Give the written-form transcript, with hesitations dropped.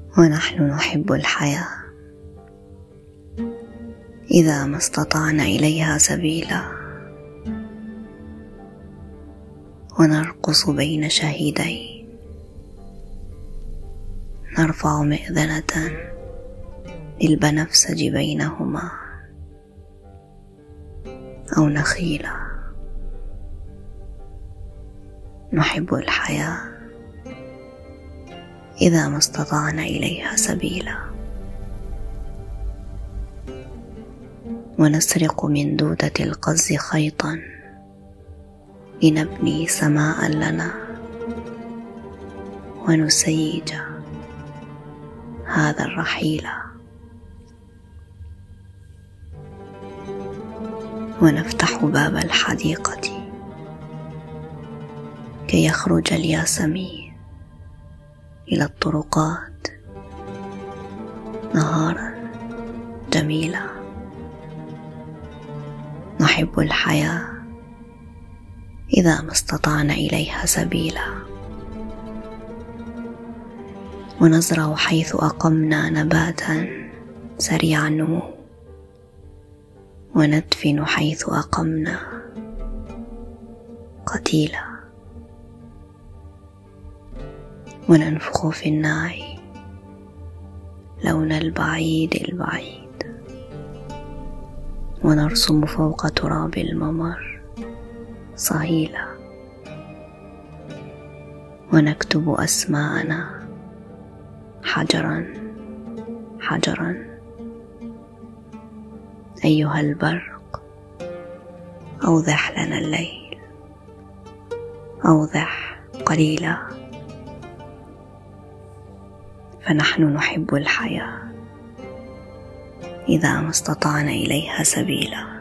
ونحن نحب الحياة إذا ما استطعنا إليها سبيلا، ونرقص بين شهيدين، نرفع مئذنة للبنفسج بينهما، أو نخيلا. نحب الحياة إذا ما استطعنا إليها سبيلا، ونسرق من دودة القز خيطا لنبني سماء لنا، ونسيج هذا الرحيل، ونفتح باب الحديقة كي يخرج الياسمين إلى الطرقات نهارا جميلا. نحب الحياة إذا ما استطعنا إليها سبيلا، ونزرع حيث أقمنا نباتا سريع النمو، وندفن حيث أقمنا قتيلا، وننفخ في الناعي لون البعيد البعيد، ونرسم فوق تراب الممر صهيلا، ونكتب أسماءنا حجرا حجرا. أيها البرق، أوضح لنا الليل، أوضح قليلا، فنحن نحب الحياة إذا ما استطعنا إليها سبيلا.